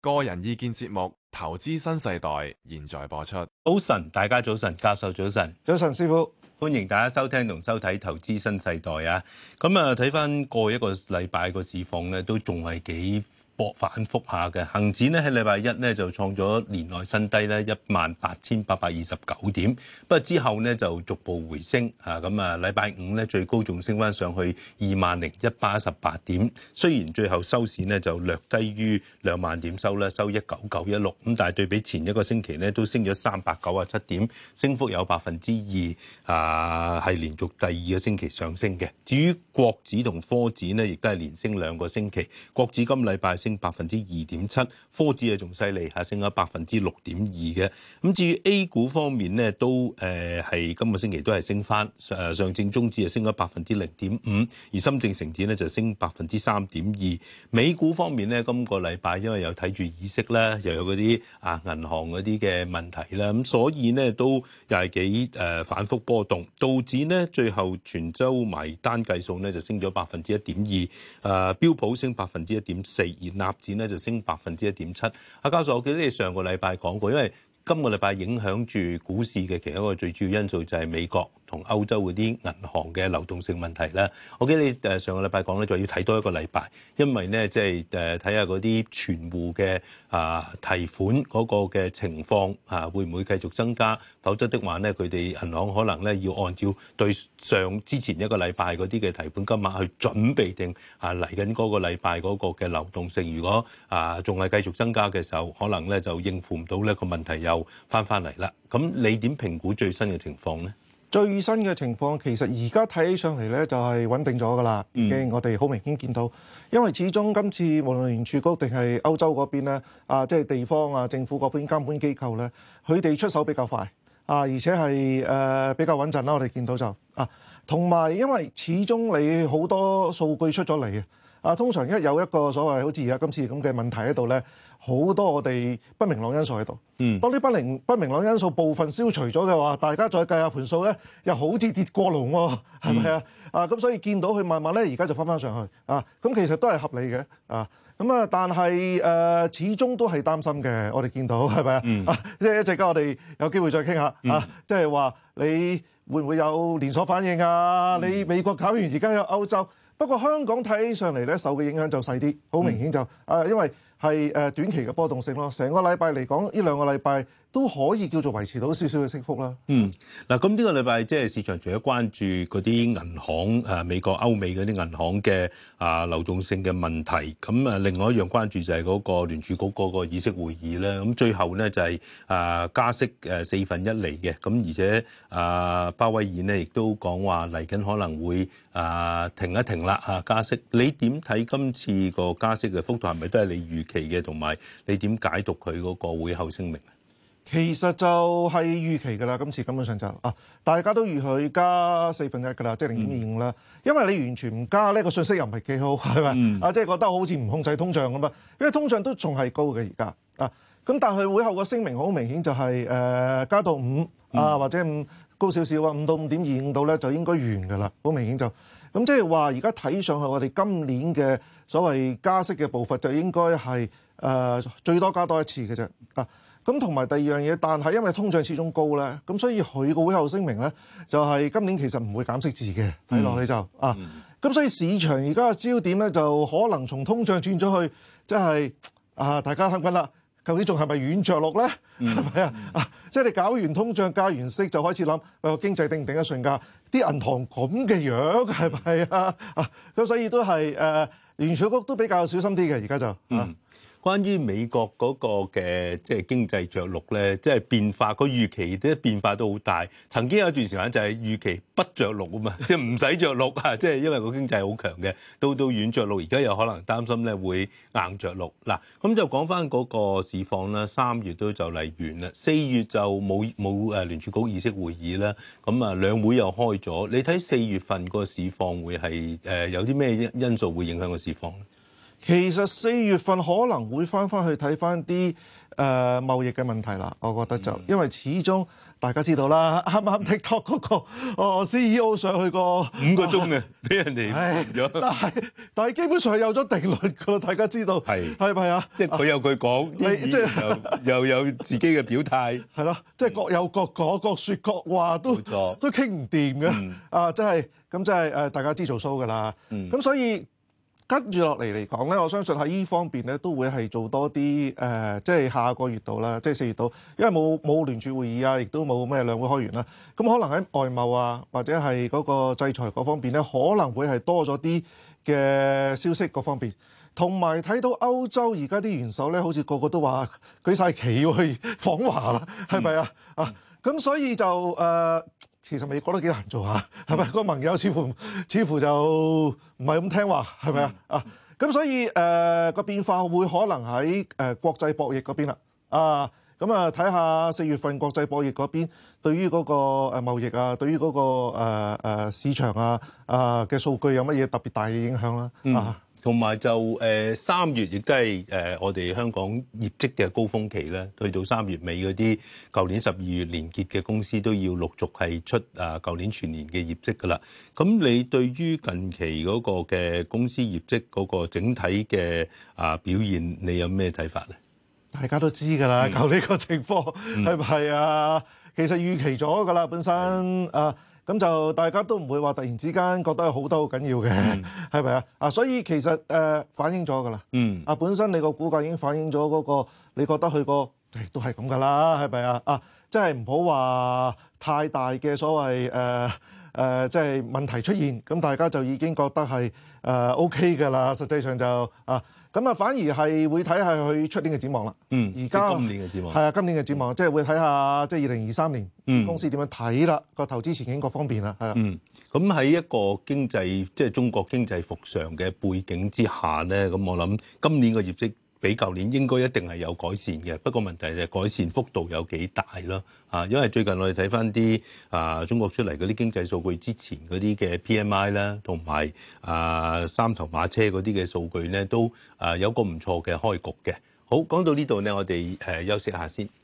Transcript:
個人意見節目《投資新世代》現在播出。 早晨，大家早晨，教授早晨， 早晨，師傅， 歡迎大家收聽同收睇《投資新世代》啊！咁啊，睇翻過去一個禮拜個市況咧，都仲係幾反覆下嘅。恒指咧喺禮拜一咧就創咗年內新低咧18,829點，不過之後咧就逐步回升啊！咁啊，禮拜五咧最高仲升翻上去20,118點，雖然最後收市咧就略低於2萬點收啦，收19916，咁但係對比前一個星期咧都升咗397點，升幅有2%，係連續第二個星期上升嘅。至於國指同科指呢，亦都係連升2個星期，國指今禮拜升2.7%，科指啊仲犀利，升咗6.2%嘅。咁至於 A 股方面呢，都係今個星期都係升翻，上證綜指啊升咗0.5%，而深證成指咧就升3.2%。美股方面呢，今個禮拜因為有睇住議息啦，又有嗰啲銀行嗰啲嘅問題啦，咁所以呢都又係幾反覆波動。道指呢最後全週埋單計數呢就升咗1.2%，標普升1.4%，而納指呢就升1.7%。阿教授，我記得你上個禮拜講過，因為今個禮拜影響住股市嘅其中一個最主要因素就係美國同歐洲嗰啲銀行嘅流動性問題啦。我記得你上個禮拜講咧，就要睇多一個禮拜，因為咧即係睇下嗰啲存戶嘅提款嗰個嘅情況會唔會繼續增加，否則的話咧佢哋銀行可能咧要按照對之前一個禮拜嗰啲嘅提款金額去準備定嚟緊嗰個禮拜嗰個嘅流動性。如果仲係繼續增加嘅時候，可能咧就應付唔到呢個問題又翻嚟啦。咁你點評估最新嘅情況咧？ 最新嘅情況其實而家睇起上嚟咧就係穩定咗噶啦，已經我哋好明顯見到，因為始終今次無論聯儲局定係歐洲嗰邊咧，即係地方政府嗰邊監管機構咧，佢哋出手比較快而且係比較穩陣啦。我哋見到就同埋因為始終你好多數據出咗嚟通常一有一個所謂好似而家今次咁嘅問題喺度咧，好多我哋不明朗因素喺度。當啲不明朗因素部分消除咗嘅話，大家再計下盤數咧，又好似跌過龍喎，係咪咁所以見到佢慢慢咧，而家就翻上去咁其實都係合理嘅但係始終都係擔心嘅。我哋見到係咪即係一陣間我哋有機會再傾下即係話你會唔會有連鎖反應你美國搞完而家有歐洲。不過香港睇起上嚟咧，受嘅影響就細啲，好明顯就因為係短期嘅波動性咯。成個禮拜嚟講，呢2個禮拜都可以叫做維持到少少嘅升幅啦。 嗱，咁呢個禮拜即係市場除咗關注嗰啲銀行美國、歐美嗰啲銀行嘅流動性嘅問題，咁另外一樣關注就係嗰個聯儲局嗰個議息會議咧。咁最後咧就係加息1/4嚟嘅，咁而且鮑威爾呢亦都講話嚟緊可能會停一停啦加息。你點睇今次個加息嘅幅度係咪都係你預期嘅？同埋你點解讀佢嗰個會後聲明？ 其實就係預期㗎啦，今次根本上就大家都預佢加1/4㗎啦，即係0.25啦。因為你完全唔加呢個信息又唔係幾好，係咪即係覺得好似唔控制通脹咁因為通脹都仲係高嘅而家咁但係會後個聲明好明顯就係加到5或者5高少少5到5.25度咧就應該完㗎啦，好明顯就咁即係話而家睇上去我哋今年嘅所謂加息嘅步伐就應該係最多加多一次嘅啫咁同埋第二樣嘢，但係因為通脹始終高咧，咁所以佢個會後聲明咧就係今年其實唔會減息字嘅，睇落去就咁所以市場而家嘅焦點咧就可能從通脹轉咗去，即係大家諗緊啦，究竟仲係咪軟着陸咧？係咪即係你搞完通脹加完息就開始諗，個經濟頂唔頂得順㗎？啲銀行咁嘅樣係咪咁所以都係聯儲局都比較小心啲嘅，而家就關於美國嗰個嘅即係經濟着陸咧，即係變化個預期啲變化都好大。曾經有一段時間就係預期不着陸啊嘛，即係唔使着陸即係因為個經濟好強嘅，到軟着陸，而家有可能擔心咧會硬着陸。嗱，咁就講翻嗰個市況啦。3月都就嚟完啦，4月就冇聯儲局議息會議啦。咁兩會又開咗，你睇4月份個市況會係有啲咩因素會影響個市況咧？ 其實4月份可能會翻去睇翻啲貿易嘅問題啦，我覺得就因為始終大家知道啦，啱啱 TikTok 嗰個CEO 上去個 5個鐘嘅，俾人哋咗。 但係基本上係有咗定論㗎啦，大家知道係咪啊？ 即係佢有佢講，即係又有自己嘅表態， 係咯，即係各有各講，各説各話，都傾唔掂嘅。真係咁，真係大家知做 show 㗎啦。咁所以跟住落嚟嚟講咧，我相信喺呢方面咧都會係做多啲即係下個月度啦，即係4月度，因為冇聯儲會議啊，亦都冇咩兩會開完啦。咁可能喺外貿啊，或者係嗰個制裁嗰方面咧，可能會係多咗啲嘅消息嗰方面。同埋睇到歐洲而家啲元首咧，好似個個都話舉晒旗要去訪華啦，係咪啊？咁所以就其實美國都幾難做下，係咪？個盟友似乎就唔係咁聽話，係咪啊？咁所以個變化會可能喺國際博弈嗰邊啦。睇下4月份國際博弈嗰邊對於嗰個貿易啊，對於嗰個市場嘅數據有乜嘢特別大嘅影響啦。 同埋就3月亦都係我哋香港業績嘅高峰期咧，去到3月尾嗰啲舊年12月連結嘅公司都要陸續係出舊年全年嘅業績㗎啦。咁你對於近期嗰個嘅公司業績嗰個整體嘅表現，你有咩睇法咧？ 大家都知㗎啦，舊呢個情況係咪啊？其實預期咗㗎啦，本身咁就大家都唔會話突然之間覺得好得好緊要嘅，係咪啊？所以其實反映咗㗎啦。本身你個股價已經反映咗嗰個，你覺得佢個都係咁㗎啦，係咪啊？即係唔好話太大嘅所謂即係問題出現，咁大家就已經覺得係OK 㗎啦。實際上就咁反而係會睇下佢出年嘅展望啦。而家今年嘅展望係啊，今年嘅展望即係會睇下即係2023年公司點樣睇啦，個投資前景各方面啦，係啦。 咁喺一個經濟即係中國經濟復常嘅背景之下咧，咁我諗今年嘅業績比舊年應該一定係有改善嘅，不過問題就係改善幅度有幾大咯。因為最近我哋睇翻啲中國出嚟嗰啲經濟數據之前嗰啲嘅 PMI 啦，同埋三頭馬車嗰啲嘅數據咧，都有個唔錯嘅開局嘅。好，講到呢度咧，我哋休息下先。